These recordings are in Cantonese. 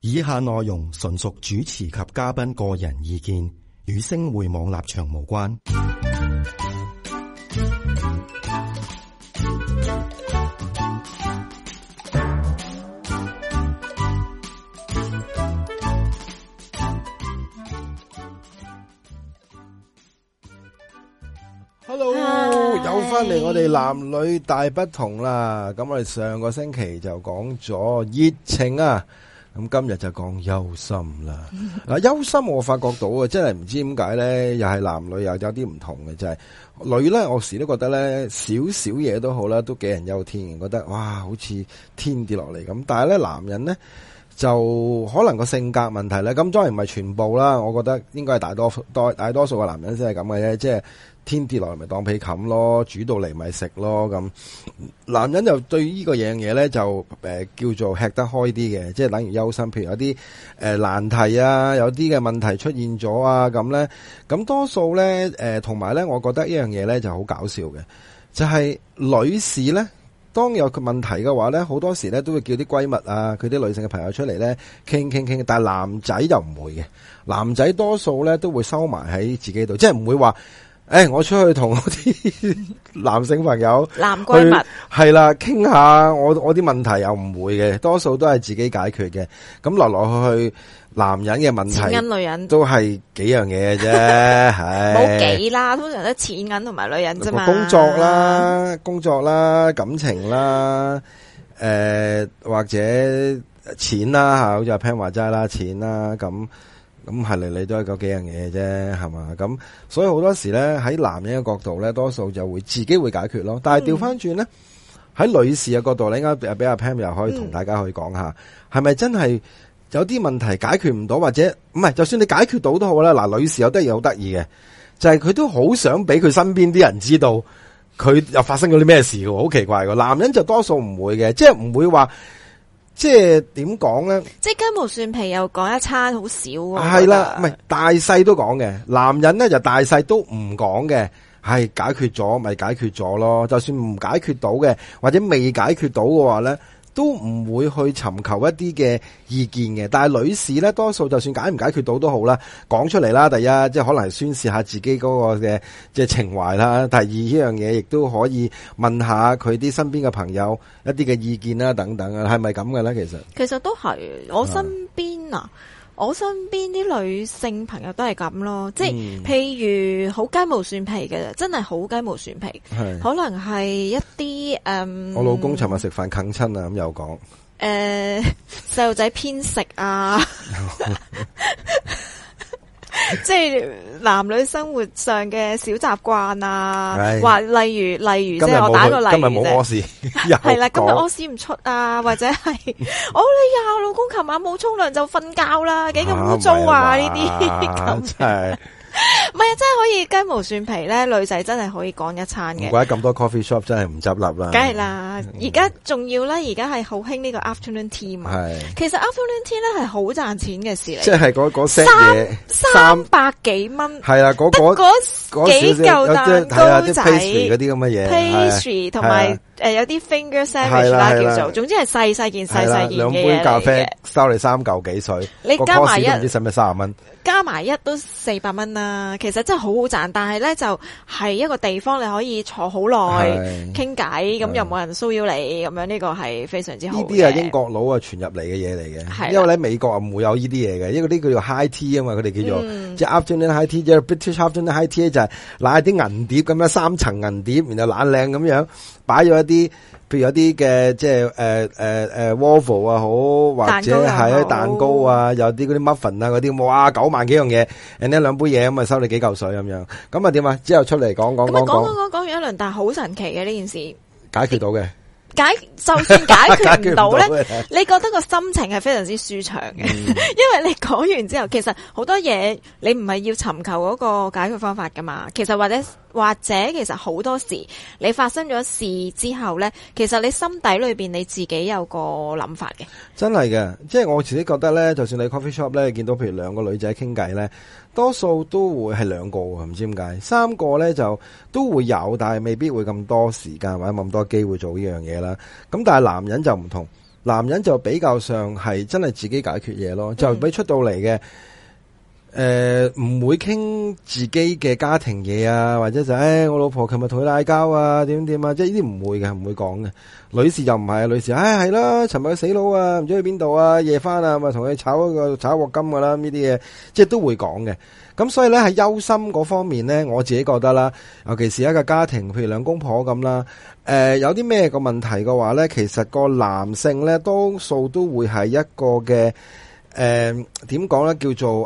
以下內容純屬主持及嘉賓個人意見，與星匯網立場無關。 Hello，又翻嚟我哋男女大不同啦。咁我哋上個星期就講咗熱情啊，咁今日就講憂心啦。憂心我發覺到啊，真係唔知點解咧，又係男女又有啲唔同嘅，就係女咧，我時都覺得咧，少少嘢都好啦，都杞人憂天，覺得哇，好似天跌落嚟咁。但係咧，男人咧就可能個性格問題咧，咁當然唔係全部啦。我覺得應該係大多數嘅男人先係咁嘅啫，即係天跌落嚟咪當被冚咯，煮到嚟咪食咯咁。男人就對呢個樣嘢咧就叫做吃得開啲嘅，即係等於憂心。譬如有啲難題啊，有啲嘅問題出現咗啊咁咧，咁多數咧同埋咧，我覺得呢樣嘢咧就好搞笑嘅，就係女士咧，當有個問題嘅話咧，好多時咧都會叫啲閨蜜啊，佢啲女性嘅朋友出嚟咧傾，但係男仔就唔會嘅，男仔多數咧都會收埋喺自己度，即係唔會話我出去同我啲男性朋友男閨蜜係啦傾下我啲問題，又唔會嘅，多數都係自己解決嘅。咁來去男人嘅問題， 錢銀女人都係幾樣嘢嘅啫，係冇幾啦，通常都錢銀同埋女人啫嘛。 工作啦，感情啦，或者錢啦吓，好似阿 Pan 話齋啦，錢啦咁係嚟都係嗰幾樣嘢啫，係嘛？咁所以好多時咧喺男人嘅角度咧，多數就會自己會解決咯。但係調翻轉咧，喺女士嘅角度咧，應該俾阿 Pam 又可以同大家去講下，係咪真係有啲問題解決唔到，或者唔係？就算你解決到都好啦。嗱，女士有得嘢好得意嘅，就係佢都好想俾佢身邊啲人知道佢又發生咗啲咩事嘅，好奇怪嘅。男人就多數唔會嘅，即係唔會話。即係點講咧？ 即係雞毛蒜皮又講一餐好少喎。 係啦，唔係大細都講嘅。男人咧就大細都唔講嘅，係解決咗咪解決咗咯。就算唔解決到嘅，或者未解決到嘅話咧，都唔會去尋求一啲嘅意見嘅。但係女士咧，多數就算解唔解決到都好啦，講出嚟啦。第一，即係可能係宣示下自己嗰個嘅即係情懷啦。第二，呢樣嘢亦都可以問下佢啲身邊嘅朋友一啲嘅意見啦，等等啊，係咪咁嘅咧？ 其實都係我身邊啊。我身邊啲女性朋友都係咁咯，即係譬如好雞毛蒜皮嘅，真係好雞毛蒜皮，可能係一啲我老公尋日食飯啃親啊，咁又講細路仔偏食啊，即係男女生活上嘅小習慣啊，話例如即係我打個例子， 今日冇屙屎， 係啦，今日屙屎唔出啊，或者係你呀，老公琴晚冇沖涼就瞓覺啦，幾咁污糟啊呢啲咁。唔係啊，真係可以雞毛蒜皮咧，女仔真係可以講一餐嘅。 唔怪得咁多 coffee shop 真係唔執笠啦。 梗係啦，而家仲要咧，而家係好興呢個 afternoon tea 嘛。係，其實 afternoon tea 咧係好賺錢嘅事嚟。 即係嗰 set 嘢 300幾蚊。係啦，嗰幾嚿蛋糕仔嗰啲咁嘅嘢 ，pastry 同埋有啲 finger sandwich 啦叫做，總之係細件嘅兩杯咖啡收你3嚿幾水， 你加埋一唔知使唔使30蚊？ 加埋一都400蚊啦，其實真係好好賺，但係咧就係一個地方你可以坐好耐傾偈，咁又冇人騷擾你，咁樣呢個係非常之好嘅。呢啲係英國佬啊傳入嚟嘅嘢嚟嘅，因為喺美國啊唔會有呢啲嘢嘅，因為呢個叫做 high tea 啊嘛，佢哋叫做即係 afternoon high tea，即係 British afternoon high tea 就係攞啲銀碟咁樣3層銀碟，然後懶靚咁樣擺咗一啲。譬如有啲嘅即係waffle 啊好，或者係蛋糕啊，有啲嗰啲 muffin 啊嗰啲，哇9萬幾樣嘢，人哋兩杯嘢咁啊收你幾嚿水咁樣，咁啊點啊？之後出嚟講完一輪，但係好神奇嘅呢件事， 解決到嘅。 就算解決唔到咧，你覺得個心情係非常之舒暢嘅，因為你講完之後，其實好多嘢你唔係要尋求嗰個解決方法噶嘛，其實或者其實好多時你發生咗事之後咧，其實你心底裏邊你自己有個諗法嘅。真係嘅， 即係我自己覺得咧，就算你 coffee shop 咧見到譬如兩個女仔傾偈咧，多數都會係兩個，唔知點解3個咧就都會有，但係未必會咁多時間或者咁多機會做呢樣嘢啦。咁但係男人就唔同。 男人就比較上係真係自己解決嘢咯，就俾出到嚟嘅。唔會傾自己嘅家庭嘢啊，或者就我老婆琴日同佢嗌交啊，點啊，即係呢啲唔會嘅，唔會講嘅。女士就唔係啊，女士係啦，尋日佢死佬啊，唔知去邊度啊，夜翻啊，咪同佢炒鑊金噶啦，呢啲嘢即係都會講嘅。咁所以咧喺憂心嗰方面咧，我自己覺得啦，尤其是一個家庭，譬如兩公婆咁啦，有啲咩個問題嘅話咧，其實個男性咧多數都會係一個嘅。點講咧？叫做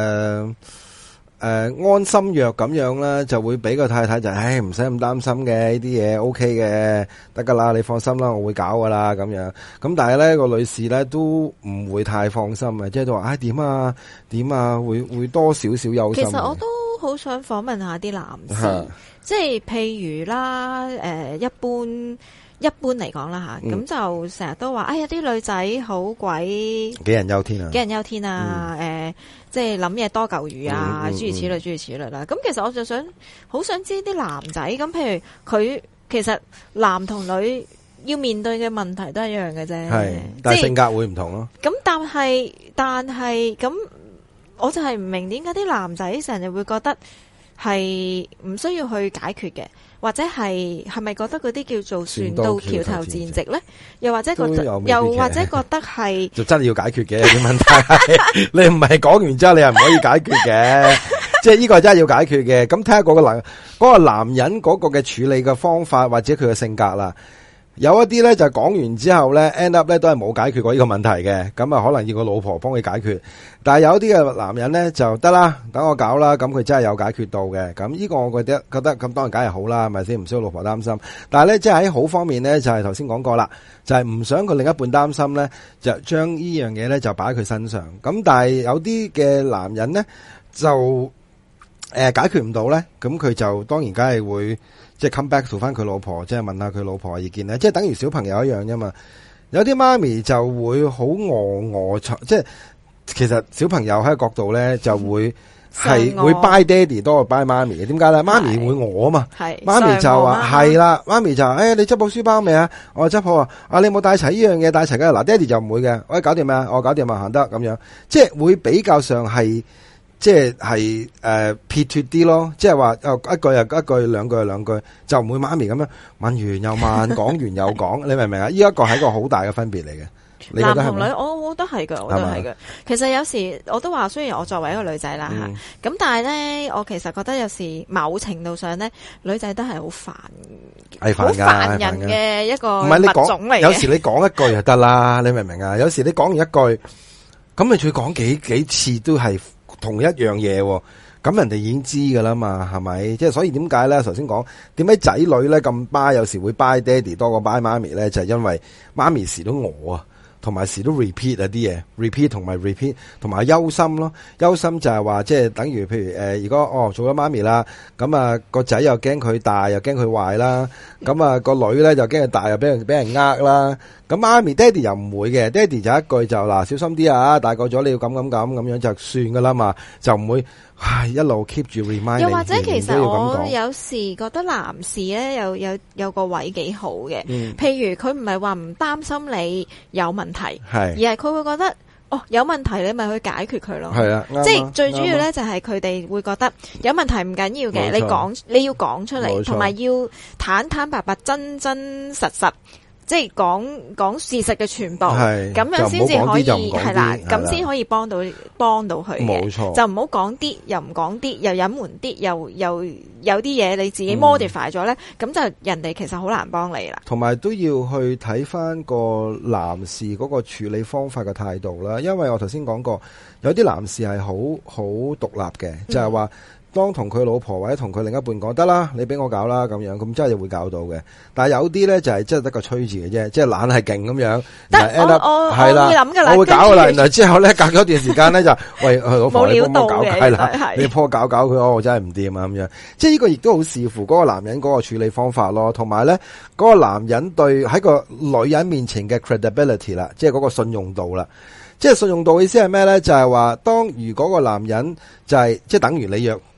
安心藥咁樣啦，就會俾個太太就唔使咁擔心嘅，呢啲嘢 OK 嘅，得噶啦，你放心啦，我會搞噶啦咁樣。咁但係咧個女士咧都唔會太放心啊，即係都話點啊，會多少少憂心。 其實我都好想訪問下啲男士，即係譬如啦，一般嚟講啦吓，咁就成日都話，啲女仔好鬼杞人憂天啊，即係諗嘢多嚿魚啊，諸如此類啦。咁其實我就好想知啲男仔，咁譬如佢其實男同女要面對嘅問題都係一樣嘅啫， 係，但係性格會唔同咯。 咁但係咁，我就係唔明點解啲男仔成日會覺得係唔需要去解決嘅。或者係咪覺得嗰啲叫做船到橋頭自然直咧？又或者覺得係就真係要解決嘅啲問題，你唔係講完之後你係唔可以解決嘅，即係呢個真係要解決嘅。咁睇下嗰個男人嗰個嘅處理嘅方法或者佢嘅性格啦。有一啲咧就講完之後咧 end up 咧都係冇解決過呢個問題嘅，咁啊可能要個老婆幫佢解決。但係有啲嘅男人咧就得啦，等我搞啦，咁佢真係有解決到嘅。咁呢個我覺得咁當然梗係好啦，係咪先？唔需要老婆擔心。但係咧即係喺好方面咧，就係頭先講過啦，就係唔想佢另一半擔心咧，就將呢樣嘢咧就擺喺佢身上。咁但係有啲嘅男人咧就解決唔到咧，咁佢就當然梗係會。即係 come back to 翻佢老婆，即係問下佢老婆嘅意見咧，即係等於小朋友一樣啫嘛。有啲媽咪就會好即係其實小朋友喺個角度咧就會係會 buy 爹哋多過 buy 媽咪嘅。點解咧？媽咪會餓啊嘛，媽咪就話係啦，媽咪就你執好書包未啊？我執好啊。你冇帶齊呢樣嘢，帶齊嘅嗱，爹哋就唔會嘅。我搞掂咩啊？我搞掂啊，行得咁樣，即係會比較上係。即係撇脱啲咯，即係話一句又一句，兩句又兩句，就唔會媽咪咁樣問完又問，講完又講，你明唔明啊？呢一個係一個好大嘅分別嚟嘅。 男同女，我都係嘅，我都係嘅。其實有時我都話，雖然我作為一個女仔啦吓，咁但係咧，我其實覺得有時某程度上咧，女仔都係好煩，好煩人嘅一個物種嚟嘅。 有時你講一句就得啦，你明唔明啊？有時你講完一句，咁你再講幾次都係同一樣嘢，咁人哋已經知噶啦嘛，係咪？即係所以點解咧？頭先講點解仔女咧咁巴，有時會巴爹哋多過巴媽咪咧，就係因為媽咪時都餓啊，同埋時都 repeat 啊啲嘢 ，repeat 同埋 repeat， 同埋憂心咯。憂心就係話即係等於譬如如果做咗媽咪啦，咁啊個仔又驚佢大，又驚佢壞啦，咁啊個女咧就驚佢大，又俾人呃啦。咁媽咪爹哋又唔會嘅，爹哋就一句就嗱小心啲啊，大個咗你要咁樣就算噶啦嘛，就唔會一路 keep 住 remind 你。 又或者其實我有時覺得男士咧有個位幾好嘅，譬如佢唔係話唔擔心你有問題，而係佢會覺得有問題你咪去解決佢咯。係啊，即係最主要咧就係佢哋會覺得有問題唔緊要嘅，你要講出嚟，同埋要坦白白、真實。即係講事實嘅全部，咁樣先至可以係啦，咁先可以幫到佢嘅。冇錯，就唔好講啲，又唔講啲，又隱瞞啲，又有啲嘢你自己 modify 咗咧，咁就人哋其實好難幫你啦。同埋都要去睇翻個男士嗰個處理方法嘅態度啦，因為我頭先講過，有啲男士係好獨立嘅，就係話。當同佢老婆或者同佢另一半講得啦，你俾我搞啦咁樣，咁真係會搞到嘅。但係有啲咧就係真係得個吹字嘅啫，即係懶係勁咁樣。我會諗噶啦，我會搞噶啦。然後之後咧隔咗一段時間咧就喂老婆你幫我搞計啦，你幫我搞佢，我真係唔掂啊咁樣。即係呢個亦都好視乎嗰個男人嗰個處理方法咯，同埋咧嗰個男人對喺個女人面前嘅 credibility 啦，即係嗰個信用度啦。即係信用度嘅意思係咩咧？就係話當如果個男人就係即係等於你約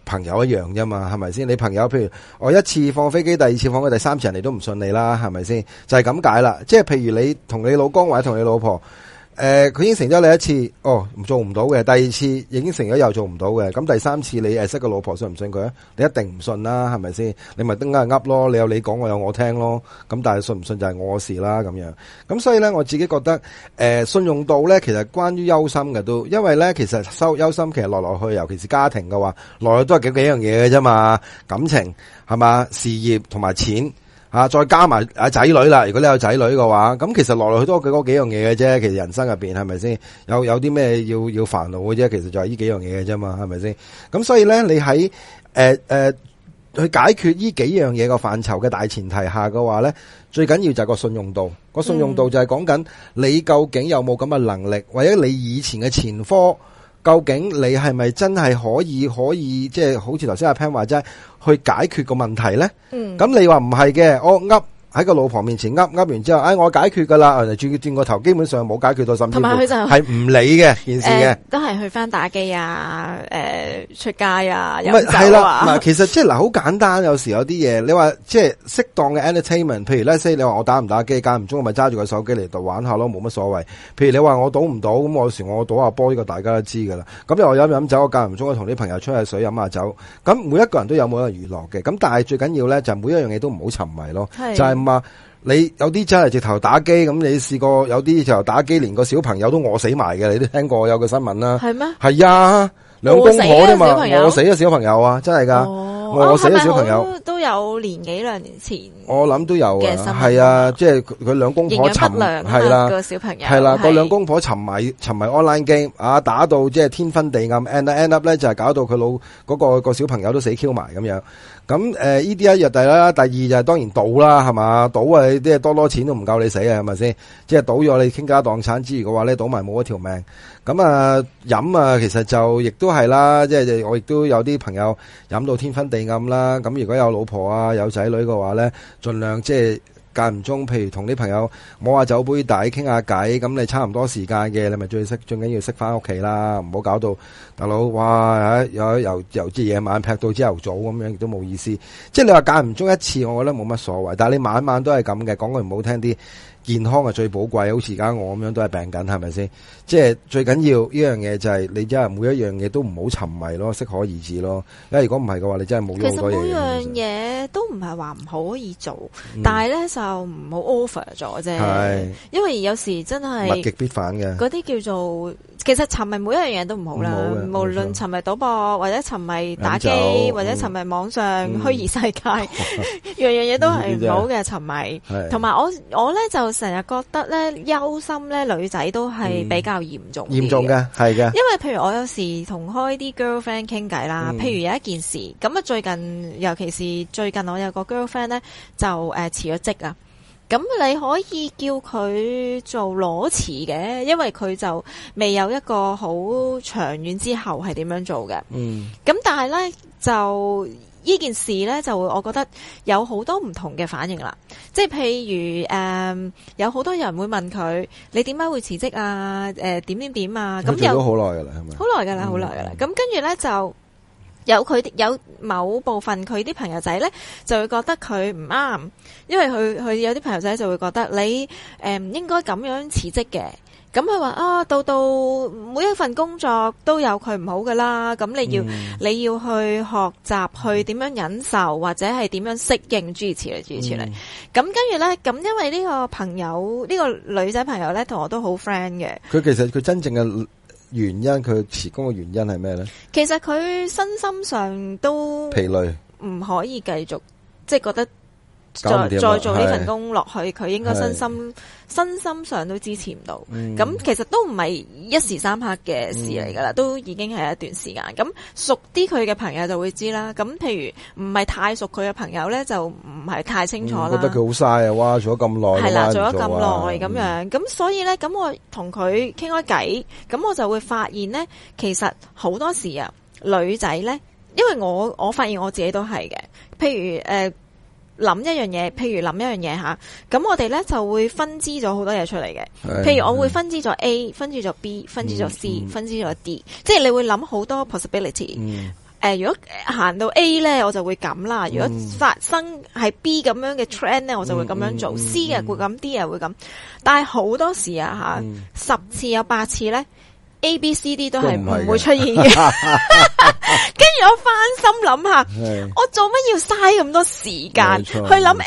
朋友一樣啫嘛，係咪先？你朋友譬如我一次放飛機，第二次放佢，第三次人哋都唔信你啦，係咪先？就係咁解啦。即係譬如你同你老公或者同你老婆。佢應承咗你一次，做唔到嘅。第二次應承咗又做唔到嘅，咁第三次你識個老婆信唔信佢啊？你一定唔信啦，係咪先？你咪得噏咯，你有你講，我有我聽咯。咁但係信唔信就係我事啦，咁樣。咁所以咧，我自己覺得，信用度咧，其實關於憂心嘅都，因為咧，其實憂心其實來來去，尤其是家庭嘅話，來來都係幾樣嘢嘅啫嘛，感情係嘛，事業同埋錢。再加埋仔女啦，如果你有仔女嘅話，咁其實來來去都嗰幾樣嘢嘅啫。其實人生入邊係咪先有啲咩要煩惱嘅啫？其實就係呢幾樣嘢嘅啫嘛，係咪先？咁所以咧，你喺去解決呢幾樣嘢個範疇嘅大前提下嘅話咧，最緊要就係個信用度。個信用度就係講緊你究竟有冇咁嘅能力，或者你以前嘅前科。究竟你係咪真係可以即係好似頭先阿 Pan 話齋去解決個問題咧？咁你話唔係嘅，我喺個老婆面前噏完之後，我解決噶啦，轉個頭基本上冇解決到，甚至乎係唔理嘅件事嘅， 都係去翻打機啊，出街啊，飲酒啊。 係啦，嗱，其實即係好簡單，有時有啲嘢，你話即係適當嘅 entertainment，譬如咧，say 你話我打唔打機，間唔中我咪揸住個手機嚟度玩下咯，冇乜所謂。譬如你話我賭唔賭，咁我有時我賭下波，呢個大家都知噶啦。咁又飲酒，我間唔中我同啲朋友吹下水，飲下酒。咁每一個人都有每一個娛樂嘅，咁但係最緊要咧就每一樣嘢都唔好沉迷咯，就係話你有啲真係直頭打機，咁你試過有啲就打機連個小朋友都餓死埋嘅，你都聽過有個新聞啦。係咩？係啊，兩公婆啫嘛，餓死咗小朋友啊，真係噶，餓死咗小朋友都有年幾兩年前， 我諗都有啊，係啊，即係佢兩公婆係啦個小朋友係啦，個兩公婆沉迷 online game 啊，打到即係天昏地暗 end up 咧就係搞到佢個小朋友都死 Q 埋咁樣。咁呢啲一日第啦，第二就係當然賭啦，係嘛？賭啊，啲多錢都唔夠你死啊，係咪先？即係賭咗你傾家蕩產之餘嘅話咧，賭埋冇一條命。咁啊飲啊，其實就亦都係啦，即係我亦都有啲朋友飲到天昏地暗啦。咁如果有老婆啊有仔女嘅話咧，盡量即係間唔中，譬如同啲朋友摸下酒杯底傾下偈，咁你差唔多時間嘅，你咪最緊要識翻屋企啦，唔好搞到大佬哇由至夜晚劈到朝頭早咁樣，亦都冇意思。即係你話間唔中一次，我覺得冇乜所謂。但係你晚晚都係咁嘅，講句唔好聽啲，健康係最寶貴。好似而家我咁樣都係病緊，係咪先？即係最緊要呢樣嘢就係你真係每一樣嘢都唔好沉迷咯，適可而止咯。因為如果唔係嘅話，你真係冇咗好多嘢。 其實每樣嘢都唔係話唔可以做，但係咧就唔好 over 咗啫。係，因為有時真係物極必反嘅。嗰啲叫做其實沉迷每一樣嘢都唔好啦，無論沉迷賭博或者沉迷打機或者沉迷網上虛擬世界，樣樣嘢都係唔好嘅沉迷。同埋我咧就成日覺得咧憂心咧女仔都係比較嚴重嘅，係嘅。因為譬如我有時同開啲 girlfriend 傾偈啦，譬如有一件事咁啊，最近尤其是最近我有個 girlfriend 咧就辭咗職啊。咁你可以叫佢做裸辭嘅，因為佢就未有一個好長遠之後係點樣做嘅。咁但係咧就呢件事咧就我覺得有好多唔同嘅反應啦。即係譬如有好多人會問佢你點解會辭職啊？點啊？咁有好耐噶啦，係咪？ 好耐噶啦，好耐噶啦。咁跟住咧就。有某部分佢啲朋友仔咧就會覺得佢唔啱，因為佢有啲朋友仔就會覺得你唔應該咁樣辭職嘅。咁佢話啊，到每一份工作都有佢唔好噶啦，咁你要去學習去點樣忍受或者係點樣適應諸如此類。咁跟住咧，咁因為呢個朋友呢個女仔朋友咧同我都好 friend 嘅。 佢其實佢真正嘅原因，佢辭工嘅原因係咩咧？其實佢身心上都疲累， 唔可以繼續，即係覺得再做呢份工落去，佢應該身心上都支持唔到。咁其實都唔係一時三刻嘅事嚟噶啦，都已經係一段時間。咁熟啲佢嘅朋友就會知啦。咁譬如唔係太熟佢嘅朋友咧，就唔係太清楚啦。 覺得佢好嘥啊！哇，做咗咁耐， 係啦，做咗咁耐咁樣。咁所以咧，咁我同佢傾開偈，咁我就會發現咧，其實好多時啊，女仔咧，因為我發現我自己都係嘅。譬如諗一樣嘢吓，咁我哋咧就會分支咗好多嘢出嚟嘅。譬如我會分支咗 A，分支咗 B，分支咗 C，分支咗 D，即係你會諗好多 possibility。 如果行到 A 咧，我就會咁啦。如果發生係 B 咁樣嘅 trend 咧，我就會咁樣做。C 嘅會咁，D 嘅會咁。但係好多時啊10次有8次咧，A、B、C、D 都係唔會出現嘅。跟住我翻心諗下，我做乜要嘥咁多時間去諗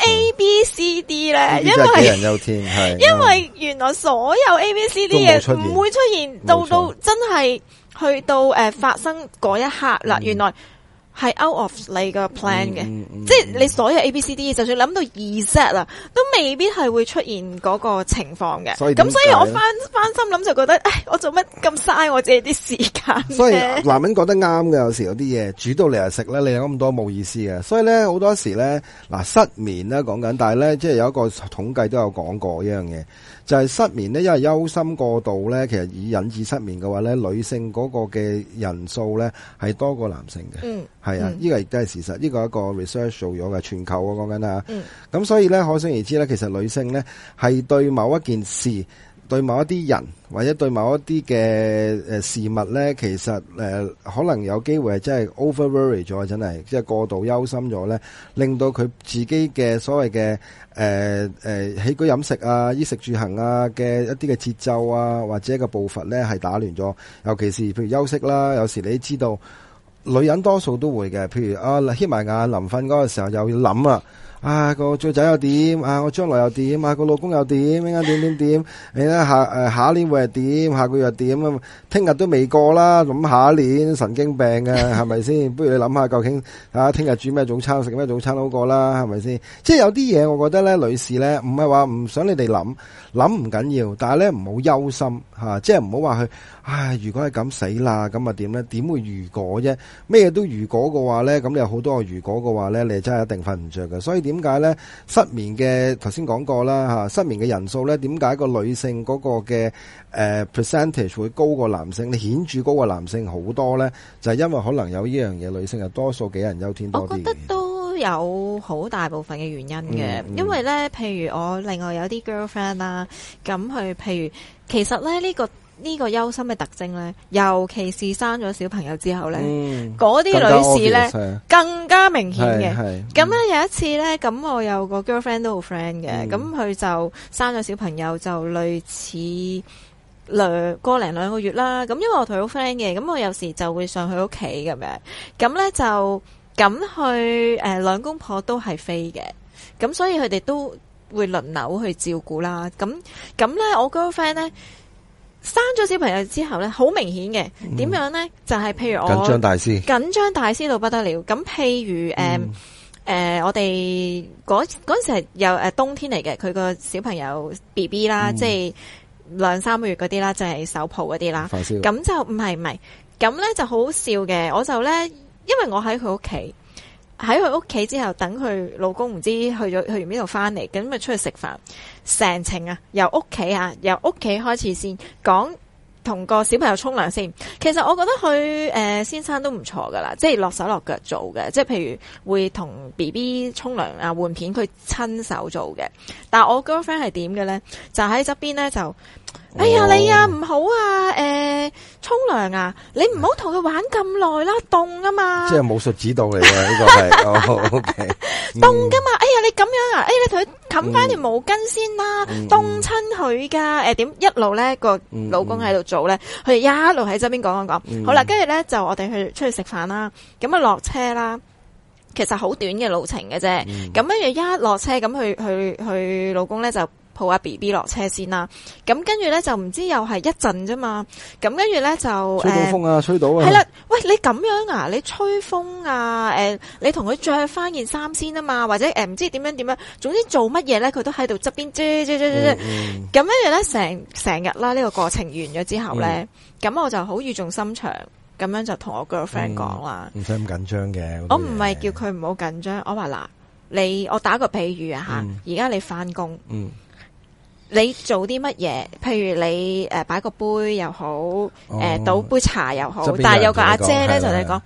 A、B、C、D 咧？因為原來所有 A、B、C、D 嘢唔會出現，到真係去到發生嗰一刻啦，原來係 out of 你個 plan 嘅，即係你所有 A、B、C、D， 就算諗到2set 啦，都未必係會出現嗰個情況嘅。咁所以我翻心諗就覺得，唉，我做乜咁嘥我自己啲時間？ 所以男人覺得啱嘅，有時有啲嘢煮到嚟就食咧，你有咁多冇意思嘅。所以咧好多時咧，嗱失眠咧講緊，但係咧即係有一個統計都有講過一樣嘢。就係失眠咧，因為憂心過度咧，其實以引致失眠嘅話咧，女性嗰個嘅人數咧係多過男性嘅。係啊，呢個亦都係事實。呢個係一個 research 做咗嘅，全球啊講緊啊。咁所以咧，可想而知咧，其實女性咧係對某一件事、對某一啲人或者對某一啲嘅事物咧，其實可能有機會係真係 over worry 咗，真係即係過度憂心咗咧，令到佢自己嘅所謂嘅起居飲食啊、衣食住行啊嘅一啲嘅節奏啊，或者個步伐咧係打亂咗。尤其是譬如休息啦，有時你知道女人多數都會嘅，譬如掀埋眼臨瞓嗰個時候又要諗啊。個最仔又點？我將來又點？個老公又點？應該點？你咧下一年會係點？下個月又點啊？聽日都未過啦，咁下一年神經病嘅係咪先？不如你諗下究竟聽日煮咩早餐，食咩早餐好過啦，係咪先？即係有啲嘢，我覺得咧，女士咧唔係話唔想你哋諗唔緊要，但係咧唔好憂心吓，即係唔好話去。如果係咁死啦，咁啊點咧？點會如果啫？咩都如果嘅話咧，咁你有好多個如果嘅話咧，你真係一定瞓唔着嘅。所以點解咧失眠嘅頭先講過啦吓，失眠嘅人數咧，點解個女性嗰個嘅percentage 會高過男性？你顯著高過男性好多咧，就係因為可能有呢樣嘢，女性係多數杞人憂天多啲。 我覺得都有好大部分嘅原因嘅，因為咧，譬如我另外有啲 girlfriend 啦，咁佢譬如其實咧呢個憂心嘅特徵咧，尤其是生咗小朋友之後咧，嗰啲女士咧更加明顯嘅。咁咧有一次咧，咁我有個 girlfriend 都好 friend 嘅，咁佢就生咗小朋友，就類似個零兩個月啦。咁因為我同佢好 friend 嘅，咁我有時就會上去屋企咁樣，咁咧就咁去兩公婆都係飛嘅，咁所以佢哋都會輪流去照顧啦。咁咧我 girlfriend 咧。生咗小朋友之後咧，好明顯嘅，點樣咧？就係譬如我緊張大師到不得了。咁譬如我哋嗰陣時係有冬天嚟嘅，佢個小朋友 BB 啦，即係2-3個月嗰啲啦，就係手抱嗰啲啦。咁就唔係，咁咧就好好笑嘅。我就咧，因為我喺佢屋企。喺佢屋企之後，等佢老公唔知去完邊度翻嚟，咁咪出去食飯。成程由屋企開始先講，同個小朋友沖涼先。其實我覺得佢先生都唔錯噶啦，即係落手落腳做嘅，即係譬如會同 BB 沖涼啊換片，佢親手做嘅。但係我 girlfriend 係點嘅咧？就喺側邊咧就。哎呀，你啊唔好啊，沖涼啊，你唔好同佢玩咁耐啦，凍啊嘛。 即係武術指導嚟嘅呢個係，OK。 凍噶嘛，哎呀你咁樣啊，你同佢冚翻條毛巾先啦，凍親佢噶。點一路咧個老公喺度做咧，佢哋一路喺側邊講。好啦，跟住咧就我哋出去食飯啦，咁啊落車啦。其實好短嘅路程嘅啫，咁跟住一落車咁佢老公咧就。抱阿 BB 落車先啦，咁跟住咧就唔知又係一陣啫嘛，咁跟住咧就吹到風啊，吹到啊， 係啦，喂你咁樣啊，你吹風啊，你同佢着翻件衫先啊嘛，或者唔知點樣，總之做乜嘢咧，佢都喺度側邊啫，咁跟住咧成日啦呢個過程完咗之後咧，咁我就好語重心長咁樣就同我 girlfriend 講啦， 唔使咁緊張嘅， 我唔係叫佢唔好緊張，我話嗱，我打個比喻啊吓，而家你翻工。你做啲乜嘢？譬如你擺個杯又好，倒杯茶又好，但係有個阿姐咧就你講，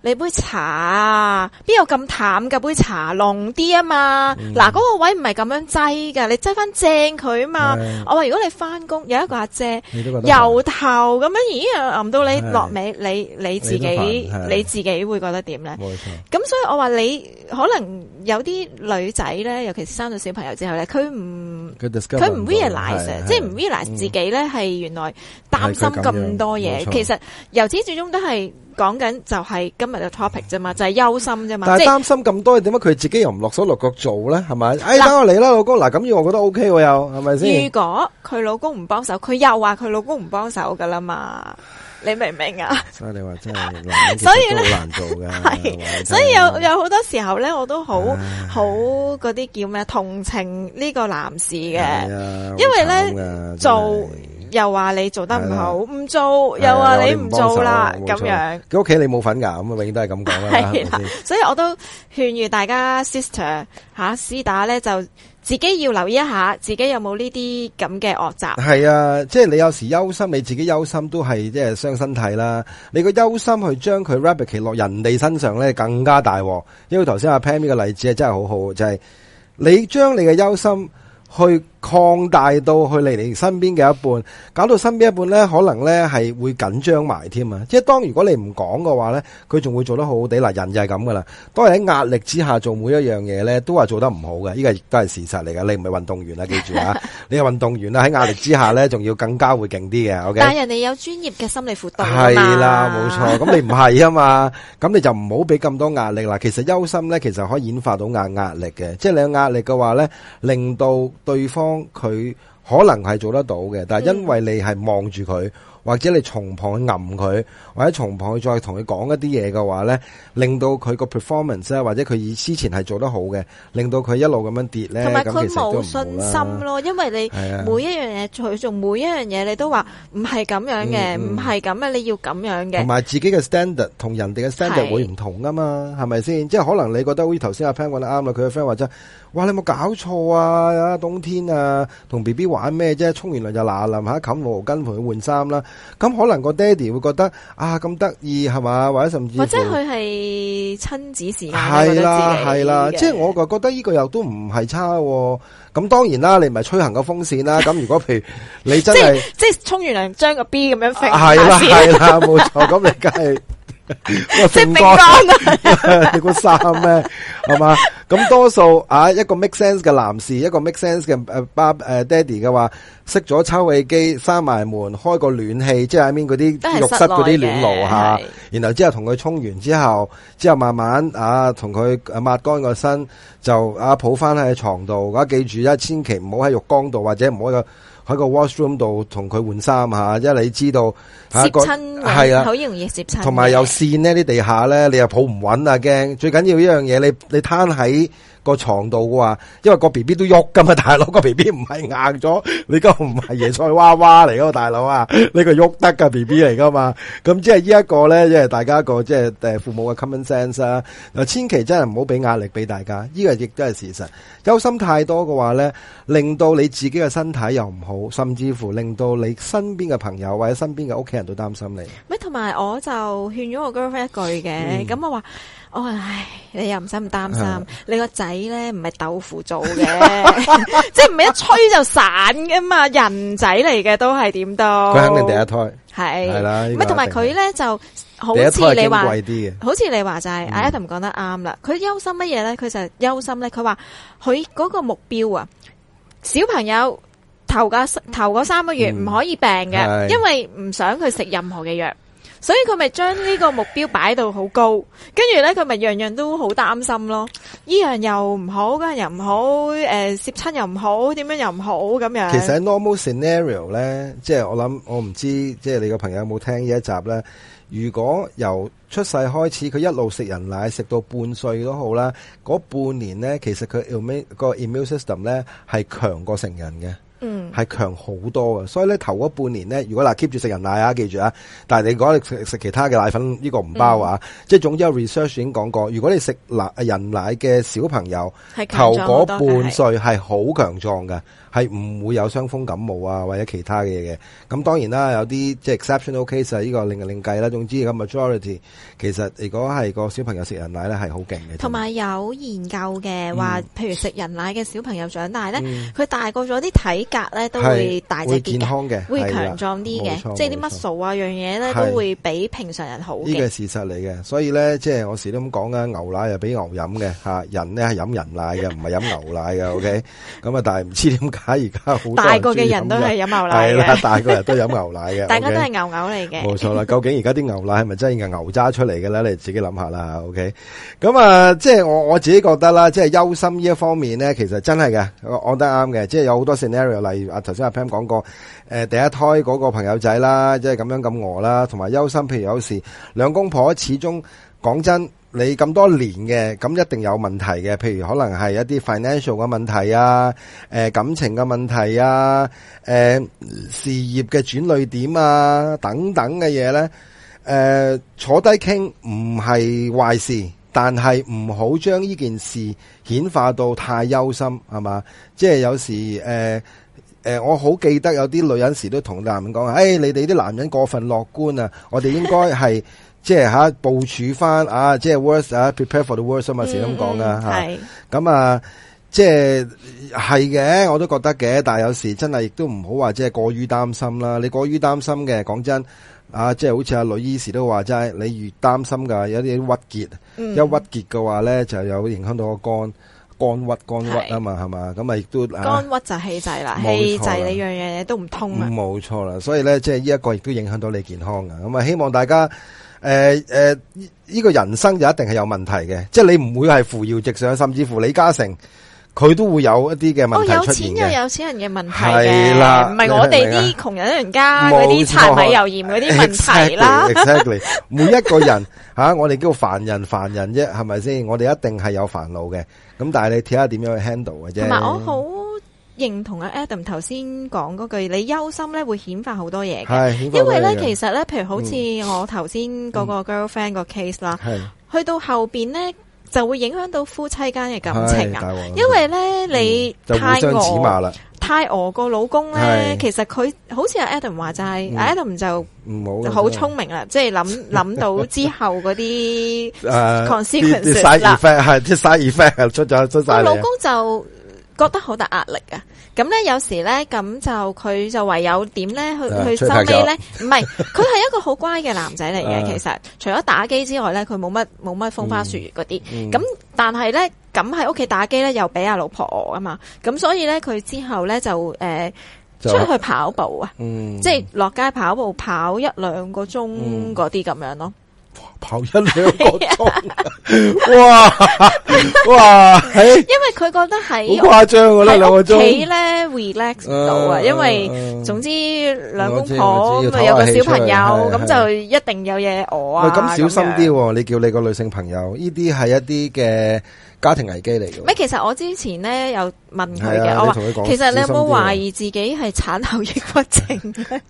你杯茶啊，邊有咁淡嘅杯茶，濃啲啊嘛。嗱，嗰個位唔係咁樣擠噶，你擠翻正佢啊嘛。我話如果你翻工有一個阿姐由頭咁樣，咦，淋到你落尾，你自己會覺得點咧？ 冇錯。 咁所以我話你可能有啲女仔咧，尤其是生咗小朋友之後咧，佢唔 realize， 即係唔 realize 自己咧係原來擔心咁多嘢。其實由始至終都係講緊就係今日嘅 topic 啫嘛，就係憂心啫嘛。 但係擔心咁多，點解佢自己又唔落手落腳做咧？係咪？等我嚟啦，老公。嗱，咁樣我覺得 OK 喎，又係咪先？ 如果佢老公唔幫手，佢又話佢老公唔幫手噶啦嘛。你明唔明啊？ 所以你話真係，所以咧好難做嘅。 係，所以有好多時候咧，我都好嗰啲叫咩同情呢個男士嘅，因為咧做又話你做得唔好，唔做又話你唔做啦，咁樣。 佢屋企你冇份噶，咁永遠都係咁講啦。係啦， 所以我都勸喻大家 sister 師打咧就。自己要留意一下，自己有冇呢啲咁嘅惡習。係啊，即係你有時憂心，你自己憂心都係即係傷身體啦。你個憂心去將佢 replicate 落人哋身上咧，更加大鑊。因為頭先阿 Pam 呢個例子係真係好好，就係你將你嘅憂心去擴大到去你身邊嘅一半，搞到身邊一半咧，可能咧係會緊張埋添啊！即係當如果你唔講嘅話咧，佢仲會做得好好地。嗱，人就係咁噶啦。當你喺壓力之下做每一樣嘢咧，都話做得唔好嘅，呢個亦都係事實嚟噶。你唔係運動員啦，記住啊！你係運動員啦，喺壓力之下咧，仲要更加會勁啲嘅。OK， 但係人哋有專業嘅心理輔導係啦，冇錯。咁你唔係啊嘛，咁你就唔好俾咁多壓力啦。其實憂心咧，其實可以演化到壓力嘅，即係你有壓力嘅話咧，令到對方佢可能係做得到嘅，但係因為你係望住佢，或者你從旁去揞佢，或者從旁去再同佢講一啲嘢嘅話咧，令到佢個 performance 咧，或者佢以之前係做得好嘅，令到佢一路咁樣跌咧， 同埋佢冇信心咯，因為你每一樣嘢佢做每一樣嘢，你都話唔係咁樣嘅，唔係咁嘅，你要咁樣嘅， 同埋自己嘅 standard 同人哋嘅 standard 會唔同噶嘛，係咪先？即係可能你覺得好似頭先阿 Pan 講得啱啦，佢嘅 friend 話齋，哇，你有冇搞錯啊？冬天啊，同 B B 玩咩啫？沖完涼就嗱淋下冚毛巾陪佢換衫啦。咁可能個爹哋會覺得啊咁得意係嘛，或者甚至或者佢係親子時間， 係啦，即係我就覺得呢個又都唔係差。咁當然啦，你唔係吹行個風扇啦。咁如果譬如你真係即係沖完涼將個 B 咁樣揈， 係啦，冇錯。咁你梗係即係餅乾啊！ 你估衫咩？係嘛？咁多數一個 make sense 嘅男士，一個 make sense 嘅爹哋嘅話，熄咗抽氣機，閂埋門，開個暖氣，即係喺面嗰啲浴室嗰啲暖爐吓，然後之後同佢沖完之後慢慢同佢抹乾個身，就抱翻喺床度。記住千祈唔好喺浴缸度，或者唔好喺個 washroom 度同佢換衫吓，因為你知道攝親係啊，好容易攝親。 同埋有線呢啲地下咧，你又抱唔穩啊，驚。最緊要一樣嘢，你攤喺個床度嘅話，因為個 B B 都喐噶嘛，大佬，個 B B 唔係硬咗，你個唔係椰菜娃娃嚟噶嘛，大佬啊，呢個喐得噶 B B 嚟噶嘛。咁即係呢一個咧，即係大家一個即係父母嘅 common sense 啊。嗱，千祈真係唔好俾壓力俾大家，呢個亦都係事實。憂心太多嘅話咧，令到你自己嘅身體又唔好，甚至乎令到你身邊嘅朋友或者身邊嘅屋企人都擔心你。 咪同埋我就勸咗我 girlfriend 一句嘅，咁我話。唉，你又唔使咁擔心，你個仔咧唔係豆腐做嘅，即係唔係一吹就散噶嘛，人仔嚟嘅都係點都。 佢肯定第一胎係啦， 咁同埋佢咧就好似你話，好似你話就係阿 Adam 講得啱啦。佢憂心乜嘢咧？佢就憂心咧。佢話佢嗰個目標啊，小朋友頭嗰3個月唔可以病嘅，因為唔想佢食任何嘅藥。所以佢咪將呢個目標擺到好高，跟住咧佢咪樣樣都好擔心咯。呢樣又唔好，嗰樣又唔好，攝親又唔好，點樣又唔好咁樣。 其實喺 normal scenario 咧，即係我唔知，即係你個朋友有冇聽呢一集咧？如果由出世開始，佢一路食人奶食到半歲都好啦，嗰半年咧，其實佢個 immune system 咧係強過成人嘅。 係強好多嘅。所以咧頭嗰半年咧，如果keep住食人奶啊，記住啊，但係你講你食其他嘅奶粉呢個唔包啊，即係總之有 research 已經講過，如果你食人奶嘅小朋友頭嗰半歲係好強壯嘅。係唔會有傷風感冒啊，或者其他嘅嘢嘅。咁當然啦，有啲即係 exceptional case 啊，呢個另計啦。總之咁 majority 其實如果係個小朋友食人奶咧，係好勁嘅。 同埋有研究嘅話，譬如食人奶嘅小朋友長大咧，佢大個咗啲體格咧都會大隻啲嘅， 健康嘅， 會強壯啲嘅，即係啲 muscle啊樣嘢咧都會比平常人好嘅。呢個係事實嚟嘅，所以咧即係我時都咁講啊，牛奶又俾牛飲嘅嚇，人咧係飲人奶嘅，唔係飲牛奶嘅。OK， 咁啊，但係唔知點解。而家好大個嘅人都係飲牛奶嘅， 係啦，大個人都飲牛奶嘅， 大家都係牛牛嚟嘅。 冇錯啦，究竟而家啲牛奶係咪真係牛揸出嚟嘅咧？你自己諗下啦。OK， 咁啊，即係我自己覺得啦，即係憂心呢一方面咧，其實真係嘅，我覺得啱嘅。即係有好多 scenario， 例如頭先阿 Pam 講過，第一胎嗰個朋友仔啦，即係咁樣咁餓啦，同埋憂心，譬如有時兩公婆始終講真。你咁多年嘅，咁一定有問題嘅，譬如可能係一啲 financial 嘅問題啊，感情嘅問題啊，事業嘅轉捩點啊，等等嘅嘢咧，坐低傾唔係壞事，但係唔好將呢件事顯化到太憂心，係嘛？即係有時我好記得有啲女人時都同男人講，你哋啲男人過分樂觀啊，我哋應該係。即係部署翻啊，即係 worst 啊 ，prepare for the worst 啊嘛，時咁講噶吓。咁啊，即係嘅，我都覺得嘅。但係有時真係亦都唔好話即係過於擔心啦。你過於擔心嘅，講真啊，即係好似阿女醫時都話齋，你越擔心噶，有啲鬱結，一鬱結嘅話咧，就有影響到個肝鬱啊嘛，係嘛？咁啊，亦都肝鬱就氣滯啦，氣滯你樣嘢都唔通啊。 冇錯啦，所以咧，即係呢一個亦都影響到你健康噶。咁啊，希望大家。呢個人生就一定係有問題嘅，即係你唔會係扶搖直上，甚至乎李嘉誠佢都會有一啲嘅問題出現嘅。有錢有錢人嘅問題嘅，係啦，唔係我哋啲窮人家嗰啲柴米油鹽嗰啲問題啦。Exactly， 每一個人我哋叫凡人啫，係咪先？我哋一定係有煩惱嘅，咁但係你睇下點樣去 handle 嘅啫。同埋我好認同阿 Adam 頭先講嗰句，你憂心咧會顯化好多嘢嘅，因為咧其實咧，譬如好似我頭先嗰個 girlfriend 個 case 啦，去到後邊咧就會影響到夫妻間嘅感情啊，因為咧你太餓個老公咧，其實佢好似阿 Adam 話就係，Adam 就好聰明啦，即係諗到之後嗰啲 consequences 啦， 啲 side effect 出晒嚟， 老公就覺得好大壓力啊！咁咧有時咧咁就佢就唯有點咧去收尾咧，唔係佢係一個好乖嘅男仔嚟嘅。其實除咗打機之外咧，佢冇乜風花雪月嗰啲。咁但係咧咁喺屋企打機咧又俾阿老婆餓啊嘛。咁所以咧佢之後咧就出去跑步啊，即係落街跑步跑1-2個鐘嗰啲咁樣咯。 跑1-2個鐘，哇！ 因為佢覺得係好誇張㗎啦，2個鐘喺屋企咧 relax 唔到啊，因為總之兩公婆咁啊有個小朋友，咁就一定有嘢餓啊。 咁小心啲，你叫你個女性朋友，呢啲係一啲嘅家庭危機嚟嘅。 其實我之前咧有問佢嘅，我話其實你有冇懷疑自己係產後抑鬱症咧？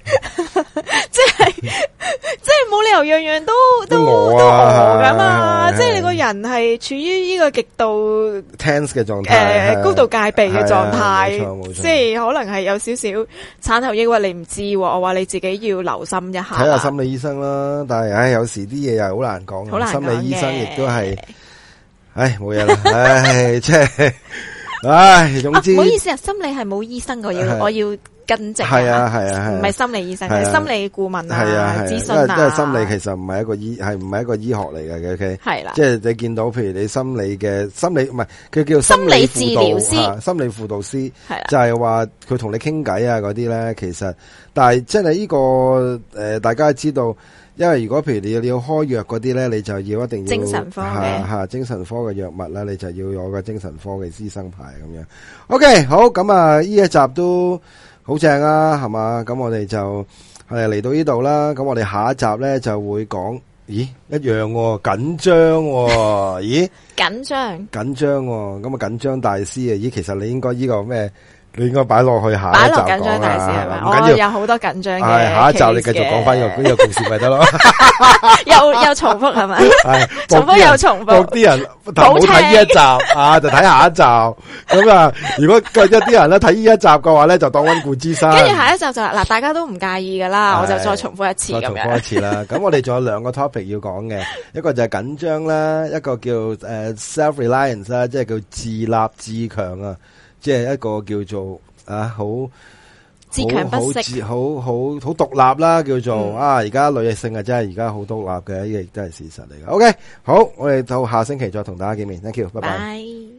即係冇理由樣樣都餓噶嘛，即係你個人係處於呢個極度 tense 嘅狀態， 高度戒備嘅狀態，即係可能係有少少產後抑鬱，你唔知，我話你自己要留心一下， 睇下心理醫生啦。但係有時啲嘢又好難講，心理醫生亦都係，冇嘢啦，即係，總之，唔好意思啊，心理係冇醫生嘅，我要跟正，係啊，唔係心理醫生，係心理顧問啊，諮詢啊， 因為心理其實唔係一個醫學嚟嘅，OK，係啦，即係你見到，譬如你心理唔係，佢叫心理治療師，心理輔導師，係啦，就係話佢同你傾偈啊嗰啲咧，其實，但係真係呢個大家知道。因為如果譬如你要開藥嗰啲咧，你就要一定要精神科嘅精神科嘅藥物啦，你就要有個精神科嘅醫生牌咁樣。OK， 好，咁啊，呢一集都好正啊，係嘛？咁我哋就嚟到呢度啦。咁我哋下一集咧就會講，咦，一樣緊張，咦，緊張，咁啊緊張大師啊，咦，其實你應該呢個咩？ 你應該擺落去下一集擺落緊張大事係咪？我有好多緊張嘅。 下一集你繼續講翻呢個故事咪得咯。 又重複係咪？ 係重複又重複。 啲人冇睇呢一集啊，就睇下一集。咁啊，如果一啲人咧睇呢一集嘅話咧，就當溫故知新。 跟住下一集就嗱，大家都唔介意噶啦，我就再重複一次咁樣。 再重複一次啦。咁我哋仲有兩個 topic 要講嘅，一個就係緊張啦，一個叫self-reliance 啦，即係叫自立自強啊，即係一個叫做好自強不息， 好獨立啦，叫做而家女性啊，真係而家好獨立嘅，呢個亦都係事實嚟嘅。OK，好，我哋到下星期再同大家見面 ，thank you，拜拜。